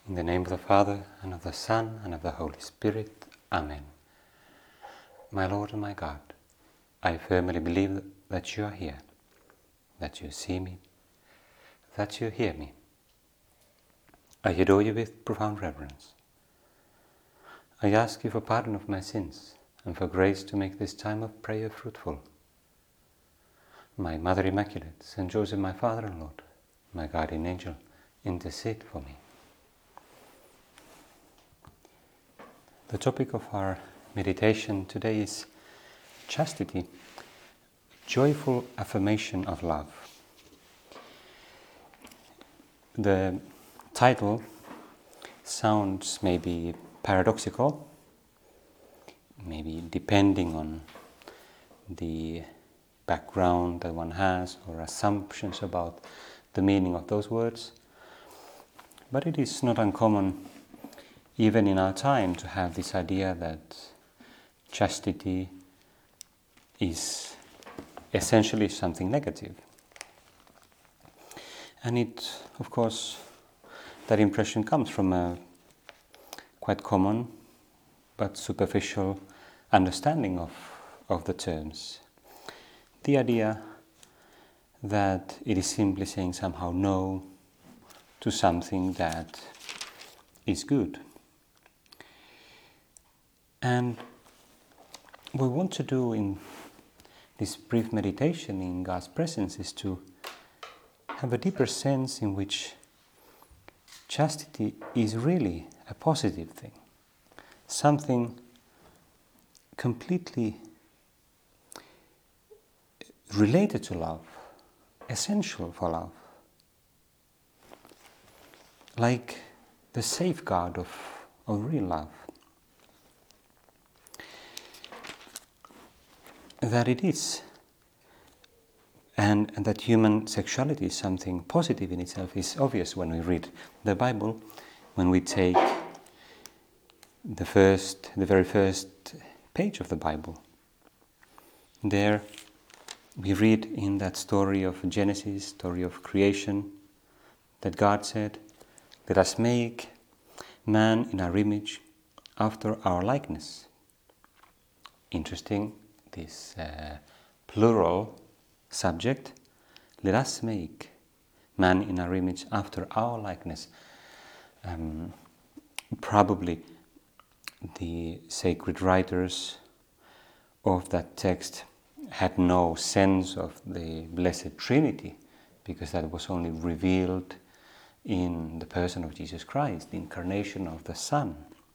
In the name of the Father, and of the Son, and of the Holy Spirit. Amen. My Lord and my God, I firmly believe that you are here, that you see me, that you hear me. I adore you with profound reverence. I ask you for pardon of my sins and for grace to make this time of prayer fruitful. My Mother Immaculate, Saint Joseph, my Father and Lord, my guardian angel, intercede for me. The topic of our meditation today is chastity, joyful affirmation of love. The title sounds maybe paradoxical, maybe depending on the background that one has or assumptions about the meaning of those words, but it is not uncommon even in our time to have this idea that chastity is essentially something negative. And it, of course, that impression comes from a quite common but superficial understanding of the terms. The idea that it is simply saying somehow no to something that is good. And what we want to do in this brief meditation in God's presence is to have a deeper sense in which chastity is really a positive thing, something completely related to love, essential for love, like the safeguard of real love. That it is, and that human sexuality is something positive in itself is obvious when we read the Bible, when we take the very first page of the Bible. There we read in that story of Genesis, story of creation, that God said, "Let us make man in our image, after our likeness." Interesting. This plural subject, let us make man in our image after our likeness. Probably the sacred writers of that text had no sense of the Blessed Trinity, because that was only revealed in the person of Jesus Christ, the incarnation of the Son.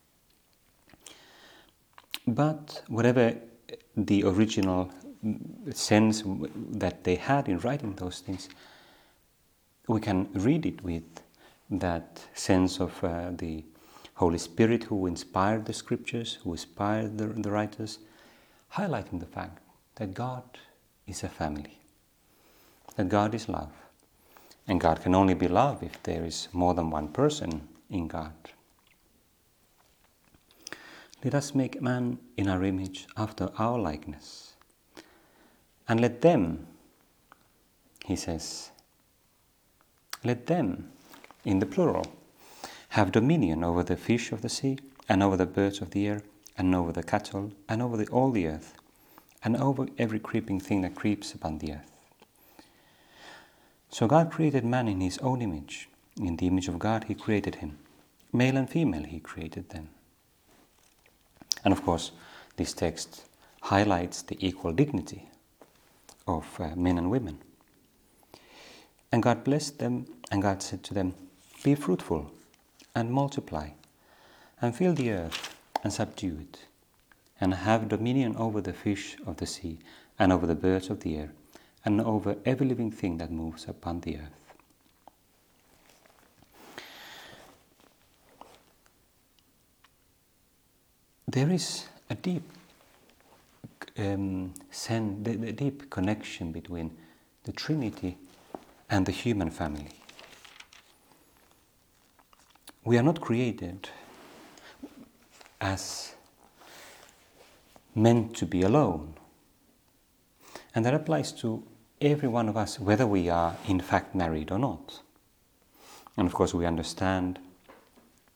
But whatever the original sense that they had in writing those things, we can read it with that sense of the Holy Spirit who inspired the scriptures, who inspired the writers, highlighting the fact that God is a family, that God is love, and God can only be love if there is more than one person in God. Let us make man in our image after our likeness. And let them, he says, let them, in the plural, have dominion over the fish of the sea, and over the birds of the air, and over the cattle, and over all the earth, and over every creeping thing that creeps upon the earth. So God created man in his own image. In the image of God he created him. Male and female he created them. And of course, this text highlights the equal dignity of men and women. And God blessed them, and God said to them, "Be fruitful, and multiply, and fill the earth, and subdue it, and have dominion over the fish of the sea, and over the birds of the air, and over every living thing that moves upon the earth." There is a deep deep connection between the Trinity and the human family. We are not created as meant to be alone. And that applies to every one of us, whether we are in fact married or not. And of course we understand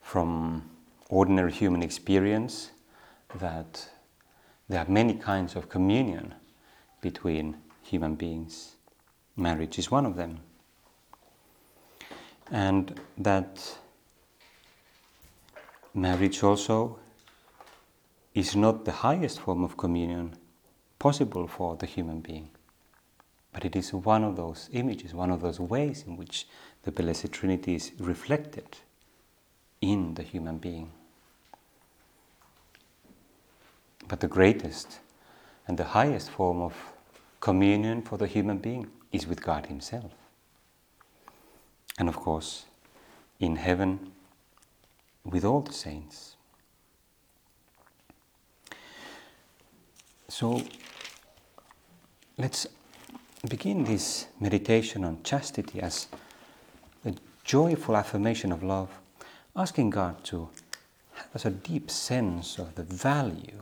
from ordinary human experience that there are many kinds of communion between human beings. Marriage is one of them. And that marriage also is not the highest form of communion possible for the human being, but it is one of those images, one of those ways in which the Blessed Trinity is reflected in the human being. But the greatest and the highest form of communion for the human being is with God Himself. And of course, in heaven, with all the saints. So, let's begin this meditation on chastity as a joyful affirmation of love, asking God to have us a deep sense of the value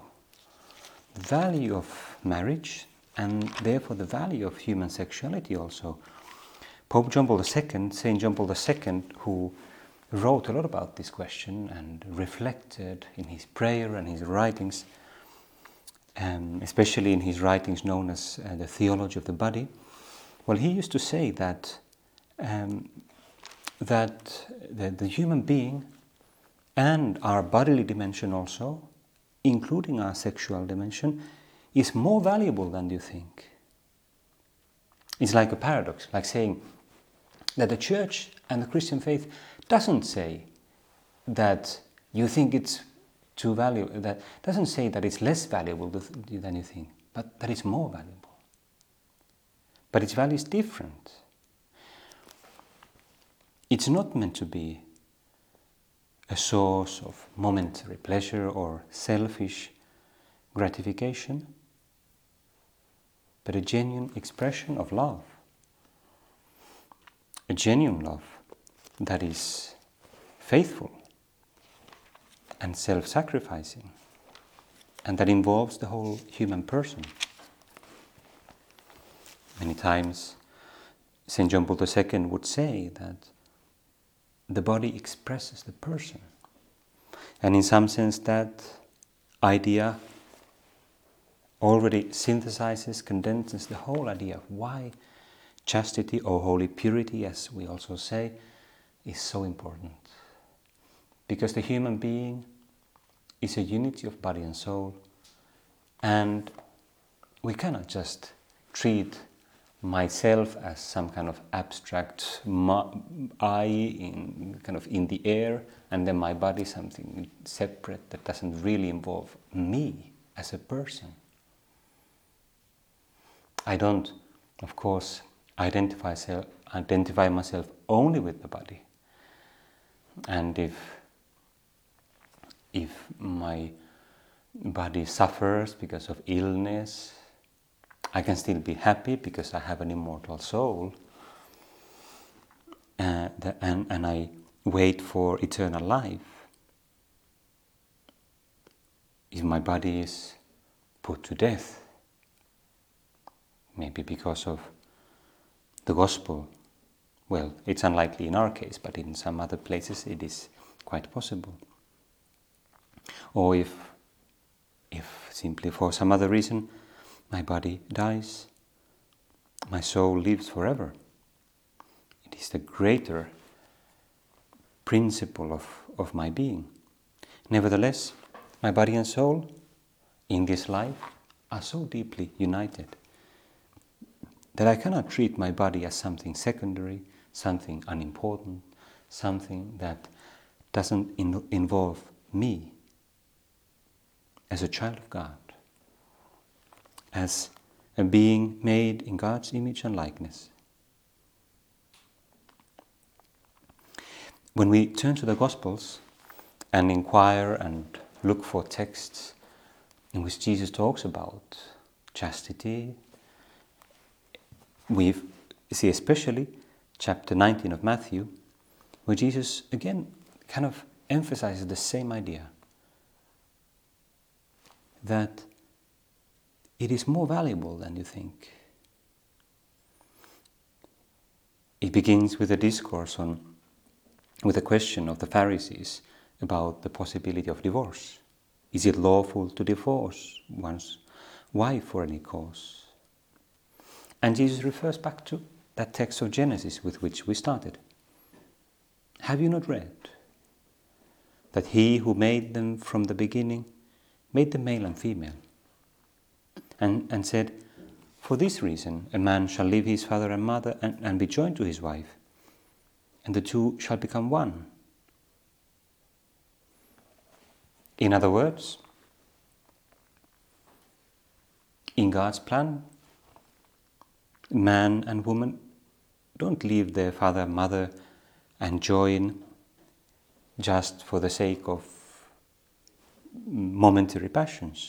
of marriage, and therefore the value of human sexuality also. Pope John Paul II, Saint John Paul II, who wrote a lot about this question and reflected in his prayer and his writings, especially in his writings known as the Theology of the Body. Well, he used to say that the human being and our bodily dimension also, including our sexual dimension, is more valuable than you think. It's like a paradox, like saying that the Church and the Christian faith doesn't say that you think it's too valuable, that doesn't say that it's less valuable than you think, but that it's more valuable. But its value is different. It's not meant to be a source of momentary pleasure or selfish gratification, but a genuine expression of love. A genuine love that is faithful and self-sacrificing, and that involves the whole human person. Many times St. John Paul II would say that the body expresses the person, and in some sense that idea already synthesizes, condenses the whole idea of why chastity or holy purity, as we also say, is so important. Because the human being is a unity of body and soul, and we cannot just treat myself as some kind of abstract I in the air, and then my body something separate that doesn't really involve me as a person. I don't, of course, identify myself only with the body. And if my body suffers because of illness, I can still be happy because I have an immortal soul, and I wait for eternal life. If my body is put to death, maybe because of the gospel, well, it's unlikely in our case, but in some other places it is quite possible. Or if simply for some other reason my body dies, my soul lives forever. It is the greater principle of my being. Nevertheless, my body and soul in this life are so deeply united that I cannot treat my body as something secondary, something unimportant, something that doesn't involve me as a child of God, as a being made in God's image and likeness. When we turn to the Gospels and inquire and look for texts in which Jesus talks about chastity, we see especially chapter 19 of Matthew, where Jesus again kind of emphasizes the same idea, that it is more valuable than you think. It begins with a discourse with a question of the Pharisees about the possibility of divorce. Is it lawful to divorce one's wife for any cause? And Jesus refers back to that text of Genesis with which we started. Have you not read that he who made them from the beginning made them male and female? And said, for this reason a man shall leave his father and mother and be joined to his wife, and the two shall become one. In other words, in God's plan, man and woman don't leave their father and mother and join just for the sake of momentary passions.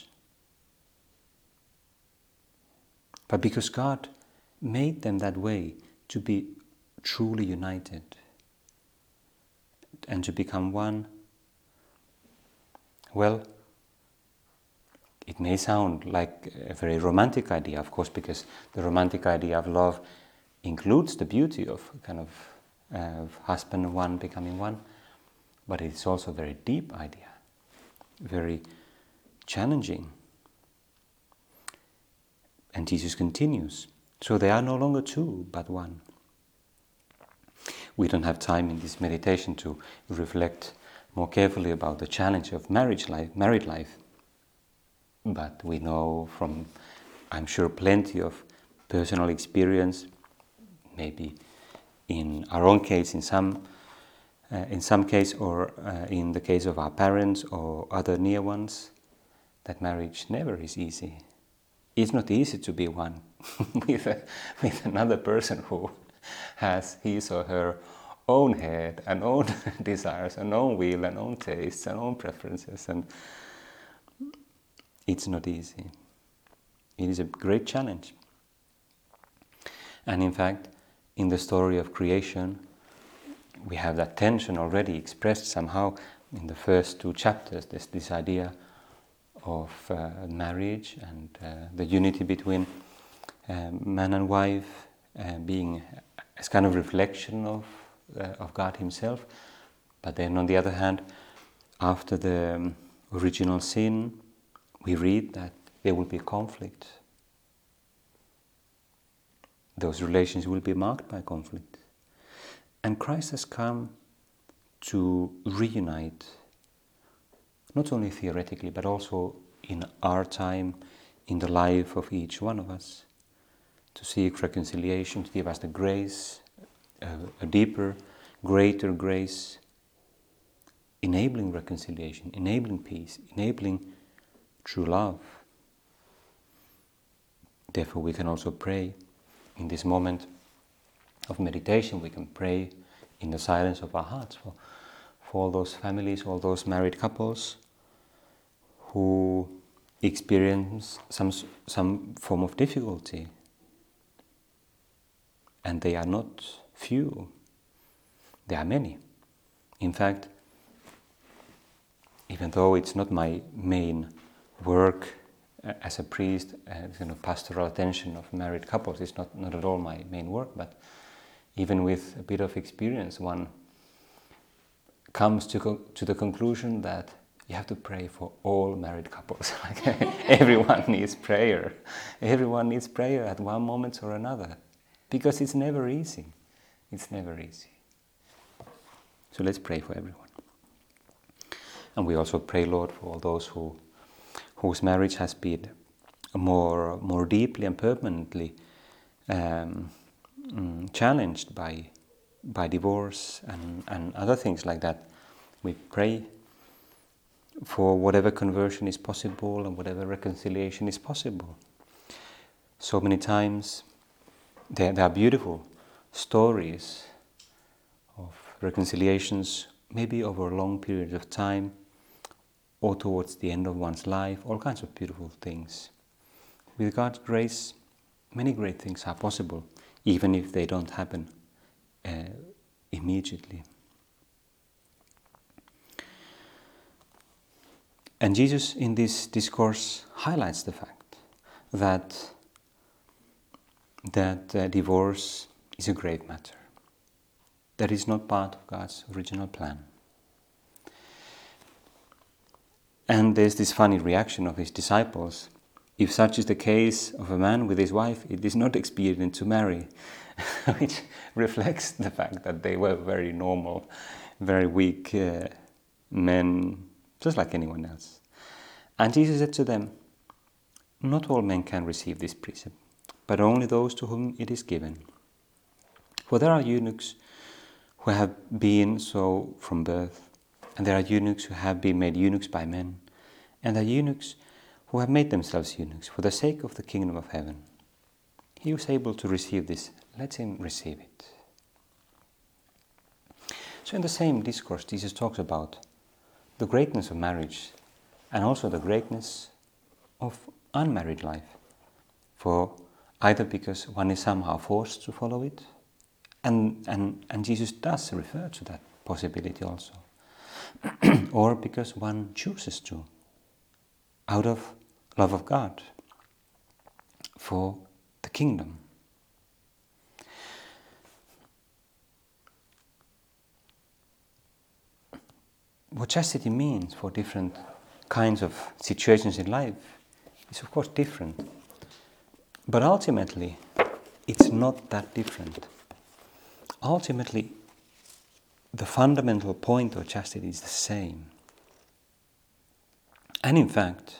But because God made them that way to be truly united and to become one, well, it may sound like a very romantic idea, of course, because the romantic idea of love includes the beauty of kind of husband and one becoming one, but it's also a very deep idea, very challenging. And Jesus continues, so they are no longer two, but one. We don't have time in this meditation to reflect more carefully about the challenge of married life. But we know from, I'm sure, plenty of personal experience, maybe in our own case, in some case, or in the case of our parents or other near ones, that marriage never is easy. It's not easy to be one with another person who has his or her own head and own desires and own will and own tastes and own preferences, and it's not easy. It is a great challenge. And in fact, in the story of creation, we have that tension already expressed somehow in the first two chapters. There's this idea of marriage and the unity between man and wife being as kind of reflection of God Himself. But then on the other hand, after the original sin, we read that there will be conflict. Those relations will be marked by conflict. And Christ has come to reunite, not only theoretically, but also in our time, in the life of each one of us, to seek reconciliation, to give us the grace, a deeper, greater grace, enabling reconciliation, enabling peace, enabling true love. Therefore, we can also pray in this moment of meditation. We can pray in the silence of our hearts for all those families, all those married couples who experience some form of difficulty. And they are not few. They are many. In fact, even though it's not my main work as a priest, pastoral attention of married couples is not at all my main work, but even with a bit of experience, one comes to the conclusion that you have to pray for all married couples. Everyone needs prayer. Everyone needs prayer at one moment or another, because it's never easy. It's never easy. So let's pray for everyone. And we also pray, Lord, for all those whose marriage has been more deeply and permanently challenged by divorce and other things like that. We pray for whatever conversion is possible and whatever reconciliation is possible. So many times there are beautiful stories of reconciliations, maybe over long periods of time or towards the end of one's life, all kinds of beautiful things. With God's grace, many great things are possible, even if they don't happen immediately. And Jesus in this discourse highlights the fact that divorce is a grave matter, that is not part of God's original plan. And there's this funny reaction of his disciples. If such is the case of a man with his wife, it is not expedient to marry, which reflects the fact that they were very normal, very weak men, just like anyone else. And Jesus said to them, not all men can receive this precept, but only those to whom it is given. For there are eunuchs who have been so from birth, and there are eunuchs who have been made eunuchs by men, and there are eunuchs who have made themselves eunuchs for the sake of the kingdom of heaven. He who is able to receive this, let him receive it. So in the same discourse, Jesus talks about the greatness of marriage and also the greatness of unmarried life. For either because one is somehow forced to follow it, and Jesus does refer to that possibility also, or because one chooses to, out of love of God, for the kingdom. What chastity means for different kinds of situations in life is of course different. But ultimately, it's not that different. Ultimately, the fundamental point of chastity is the same. And in fact,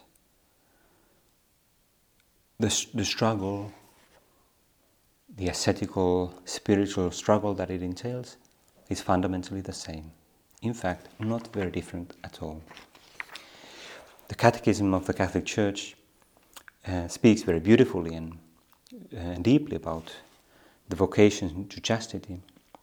the struggle, the ascetical, spiritual struggle that it entails is fundamentally the same. In fact, not very different at all. The Catechism of the Catholic Church speaks very beautifully and deeply about the vocation to chastity.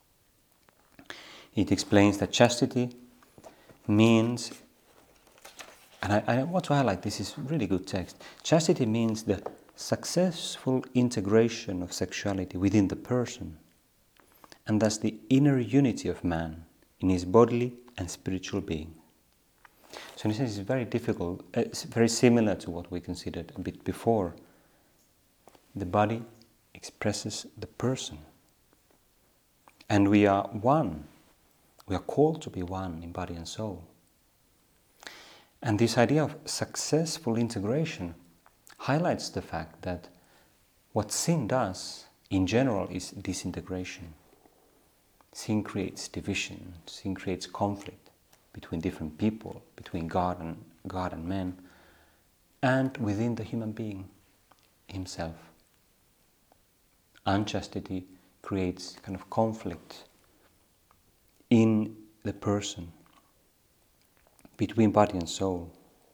It explains that chastity means, and I want to highlight, this is really good text, chastity means the successful integration of sexuality within the person, and thus the inner unity of man in his bodily and spiritual being. So in a sense, it's very difficult, it's very similar to what we considered a bit before. The body expresses the person. And we are one. We are called to be one in body and soul. And this idea of successful integration highlights the fact that what sin does in general is disintegration. Sin creates division, sin creates conflict between different people, between God and man, and within the human being himself. Unchastity creates kind of conflict in the person, between body and soul.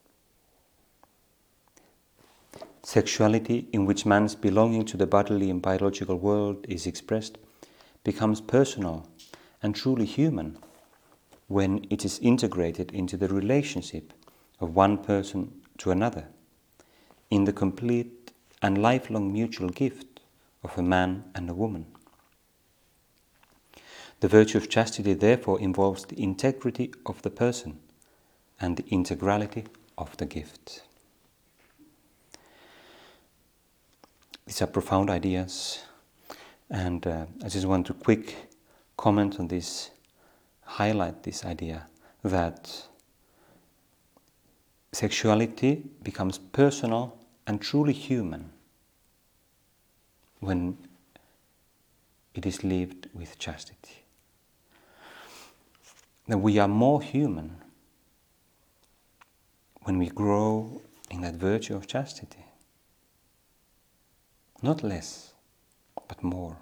Sexuality, in which man's belonging to the bodily and biological world is expressed, becomes personal and truly human when it is integrated into the relationship of one person to another, in the complete and lifelong mutual gift of a man and a woman. The virtue of chastity therefore involves the integrity of the person and the integrality of the gift. These are profound ideas, and I just want to quick comment on this, highlight this idea that sexuality becomes personal and truly human when it is lived with chastity. That we are more human when we grow in that virtue of chastity. Not less, but more.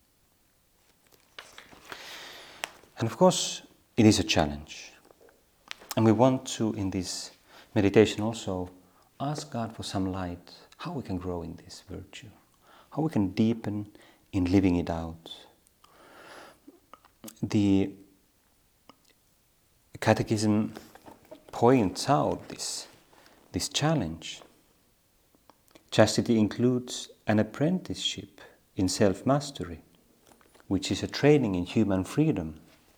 And of course, it is a challenge. And we want to, in this meditation also, ask God for some light, how we can grow in this virtue, how we can deepen in living it out. The Catechism points out this challenge. Chastity includes an apprenticeship in self-mastery, which is a training in human freedom.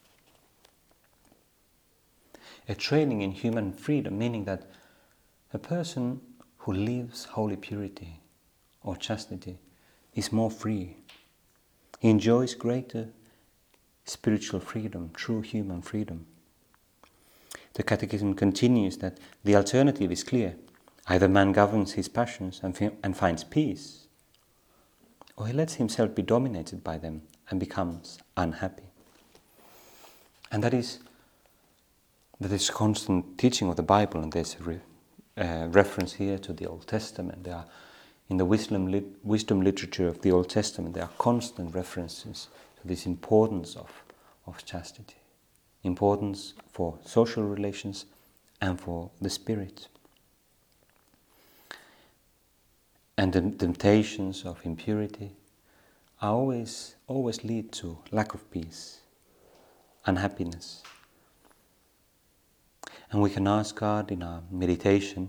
A training in human freedom, meaning that a person who lives holy purity or chastity is more free. He enjoys greater spiritual freedom, true human freedom. the Catechism continues that the alternative is clear. Either man governs his passions and finds peace, or he lets himself be dominated by them and becomes unhappy. And that is constant teaching of the Bible, and there's a reference here to the Old Testament. There are, in the wisdom literature of the Old Testament, there are constant references to this importance of chastity, importance for social relations and for the spirit. And the temptations of impurity always lead to lack of peace, unhappiness. And we can ask God in our meditation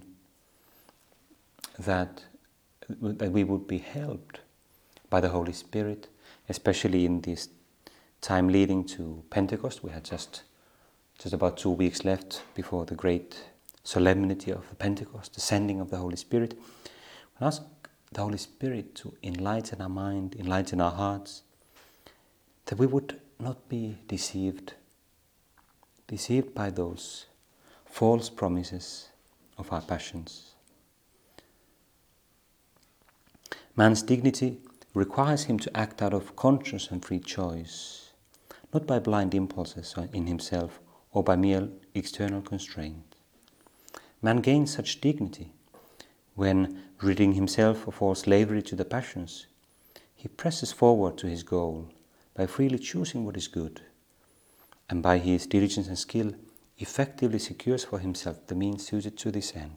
that we would be helped by the Holy Spirit, especially in this time leading to Pentecost. We had just about 2 weeks left before the great solemnity of the Pentecost, the sending of the Holy Spirit. We ask the Holy Spirit to enlighten our mind, enlighten our hearts, that we would not be deceived by those false promises of our passions. Man's dignity requires him to act out of conscious and free choice, not by blind impulses in himself or by mere external constraint. Man gains such dignity when, ridding himself of all slavery to the passions, he presses forward to his goal by freely choosing what is good, and by his diligence and skill effectively secures for himself the means suited to this end.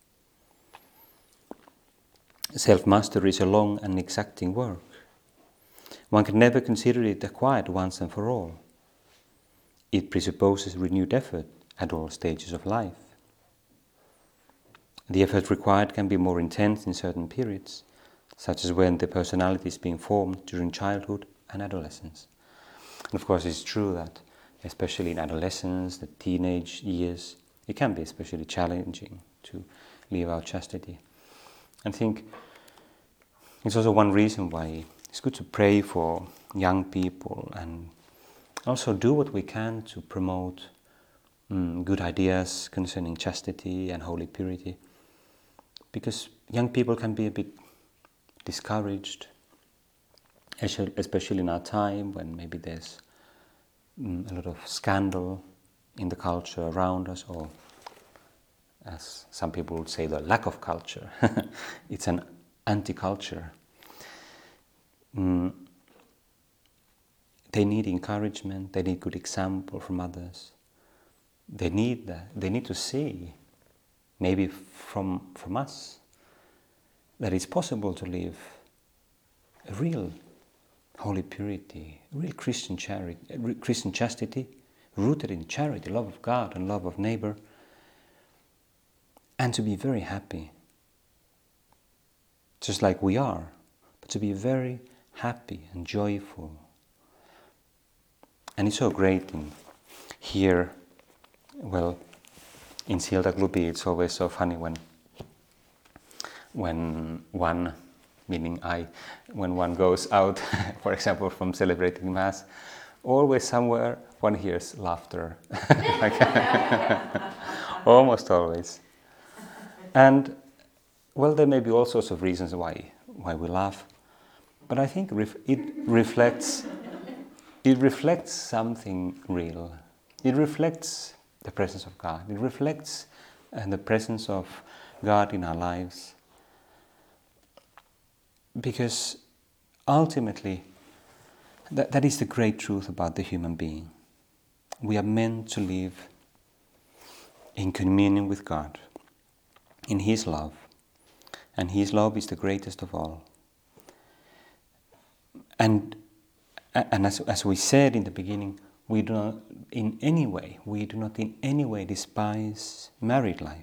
Self-mastery is a long and exacting work. One can never consider it acquired once and for all. It presupposes renewed effort at all stages of life. The effort required can be more intense in certain periods, such as when the personality is being formed during childhood and adolescence. And of course, it's true that, especially in adolescence, the teenage years, it can be especially challenging to live out chastity. I think it's also one reason why it's good to pray for young people and also do what we can to promote good ideas concerning chastity and holy purity. Because young people can be a bit discouraged, especially in our time when maybe there's a lot of scandal in the culture around us, or as some people would say, the lack of culture. It's an anti-culture. They need encouragement, they need good example from others. They need to see, maybe from us, that it's possible to live a real holy purity, real Christian chastity, rooted in charity, love of God and love of neighbor, and to be very happy, just like we are, but to be very happy and joyful. And it's so great here, well, in Siltaklubbi, it's always so funny when one, meaning when one goes out, for example, from celebrating Mass, always somewhere one hears laughter, almost always. And well, there may be all sorts of reasons why we laugh, but I think it reflects something real. It reflects the presence of God. It reflects the presence of God in our lives. Because ultimately, that is the great truth about the human being. We are meant to live in communion with God, in His love. And His love is the greatest of all. And as we said in the beginning, we do not in any way despise married life.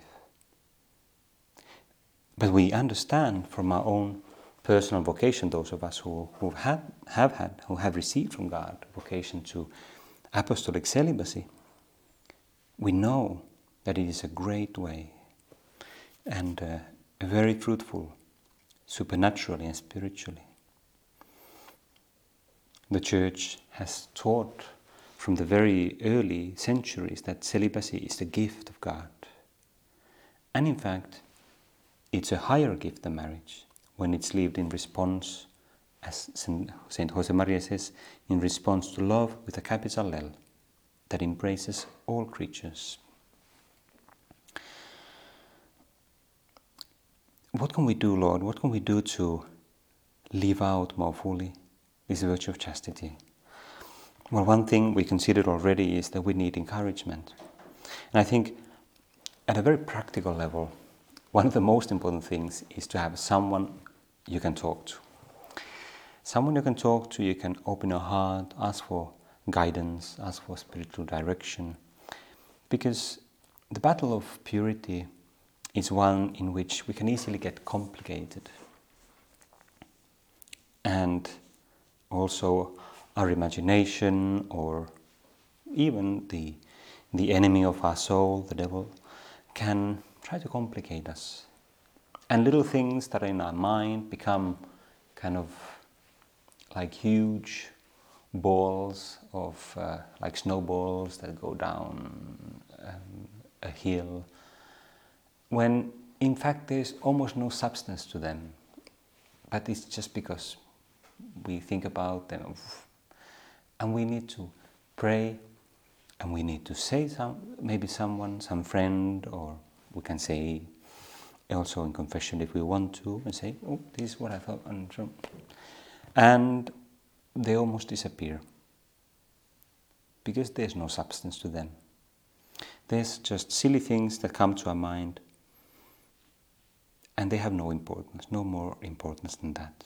But we understand from our own personal vocation, those of us who have received from God vocation to apostolic celibacy, we know that it is a great way and very fruitful, supernaturally and spiritually. The Church has taught from the very early centuries that celibacy is the gift of God. And in fact, it's a higher gift than marriage when it's lived in response, as Saint Josemaria says, in response to love with a capital L that embraces all creatures. What can we do, Lord? What can we do to live out more fully this virtue of chastity? Well, one thing we considered already is that we need encouragement. And I think at a very practical level, one of the most important things is to have someone you can talk to. Someone you can talk to, you can open your heart, ask for guidance, ask for spiritual direction. Because the battle of purity is one in which we can easily get complicated. And also our imagination, or even the enemy of our soul, the devil, can try to complicate us. And little things that are in our mind become kind of like huge balls of, like snowballs that go down a hill, when in fact there's almost no substance to them. But it's just because we think about them. And we need to pray, and we need to say maybe someone, some friend, or we can say also in confession if we want to, and say, oh, this is what I thought, and they almost disappear because there's no substance to them. There's just silly things that come to our mind, and they have no importance, no more importance than that.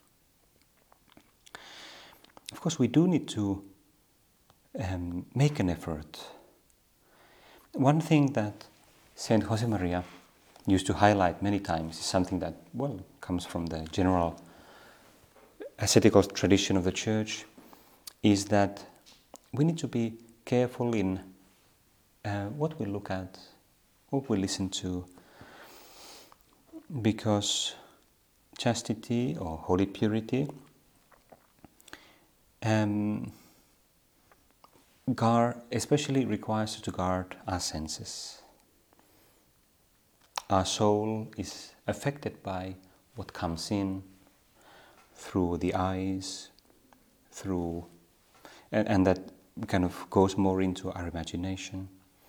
Of course, we do need to make an effort. One thing that Saint Josemaria used to highlight many times is something that, well, comes from the general ascetical tradition of the Church, is that we need to be careful in what we look at, what we listen to, because chastity or holy purity especially requires us to guard our senses. Our soul is affected by what comes in through the eyes, and that kind of goes more into our imagination.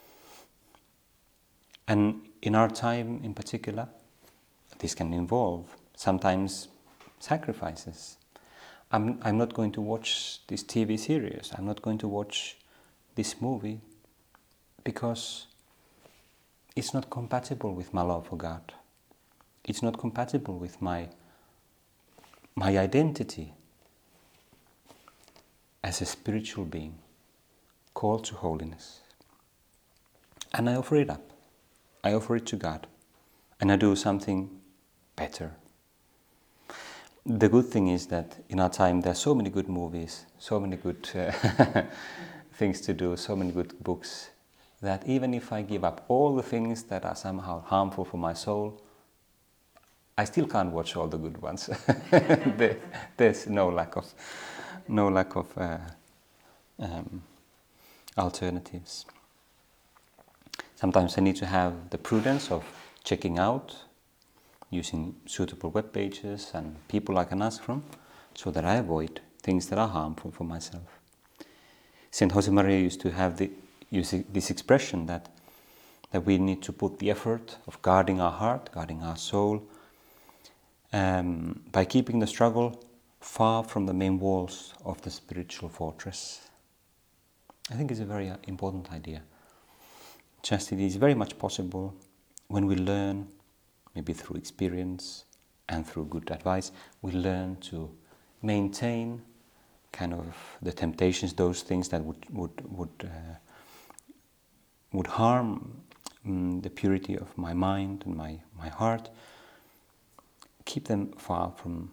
And in our time in particular, this can involve sometimes sacrifices. I'm not going to watch this TV series, I'm not going to watch this movie because it's not compatible with my love for God. It's not compatible with my identity as a spiritual being called to holiness. And I offer it up. I offer it to God. And I do something better. The good thing is that in our time there are so many good movies, so many good things to do, so many good books, that even if I give up all the things that are somehow harmful for my soul, I still can't watch all the good ones. There's no lack of alternatives. Sometimes I need to have the prudence of checking out, using suitable web pages and people I can ask from, so that I avoid things that are harmful for myself. Saint Josemaria used to have this expression that we need to put the effort of guarding our heart, guarding our soul, by keeping the struggle far from the main walls of the spiritual fortress. I think it's a very important idea. Chastity is very much possible when we learn, maybe through experience and through good advice, we learn to maintain kind of the temptations, those things that would harm the purity of my mind and my heart, keep them far from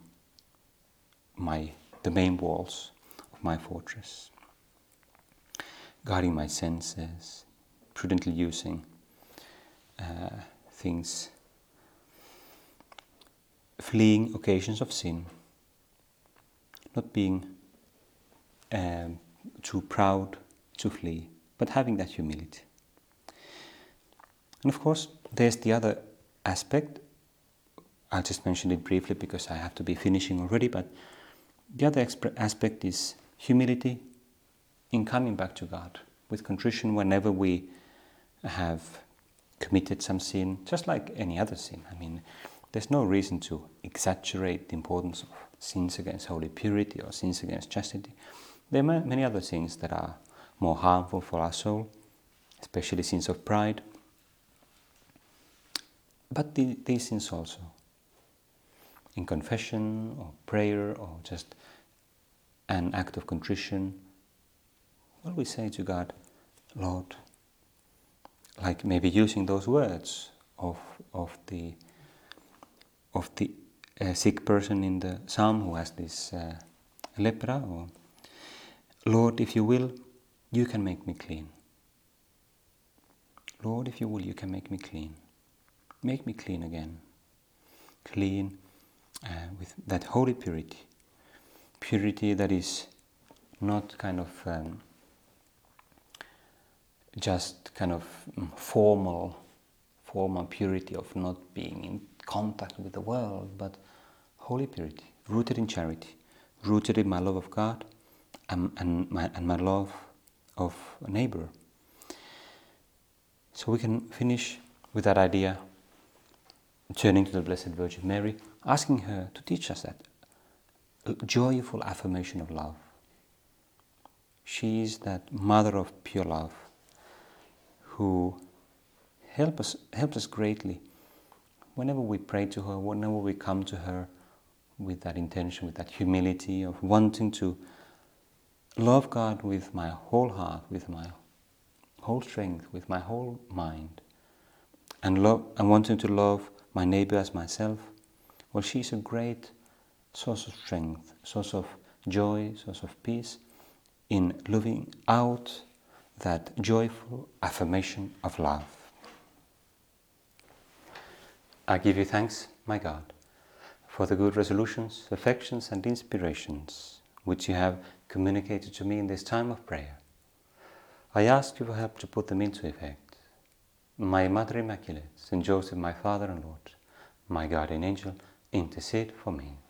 the main walls of my fortress. Guarding my senses, prudently using things, fleeing occasions of sin, not being too proud to flee, but having that humility. And of course, there's the other aspect. I'll just mention it briefly because I have to be finishing already, but the other aspect is humility in coming back to God with contrition whenever we have committed some sin, just like any other sin. I mean, there's no reason to exaggerate the importance of sins against holy purity or sins against chastity. There are many other sins that are more harmful for our soul, especially sins of pride. But these sins also, in confession or prayer or just an act of contrition, well, we say to God, Lord, like maybe using those words of the sick person in the psalm who has this lepra, or Lord, if you will, you can make me clean. Lord, if you will, you can make me clean. Make me clean again. Clean with that holy purity. Purity that is not kind of just kind of formal purity of not being in contact with the world, but holy purity, rooted in charity, rooted in my love of God and my love of a neighbor. So we can finish with that idea, turning to the Blessed Virgin Mary, asking her to teach us that joyful affirmation of love. She is that mother of pure love who helps us greatly whenever we pray to her, whenever we come to her with that intention, with that humility of wanting to love God with my whole heart, with my whole strength, with my whole mind, and wanting to love my neighbor as myself. Well, she's a great source of strength, source of joy, source of peace in living out that joyful affirmation of love. I give you thanks, my God, for the good resolutions, affections and inspirations which you have communicated to me in this time of prayer. I ask you for help to put them into effect. My Mother Immaculate, Saint Joseph, my Father and Lord, my guardian angel, intercede for me.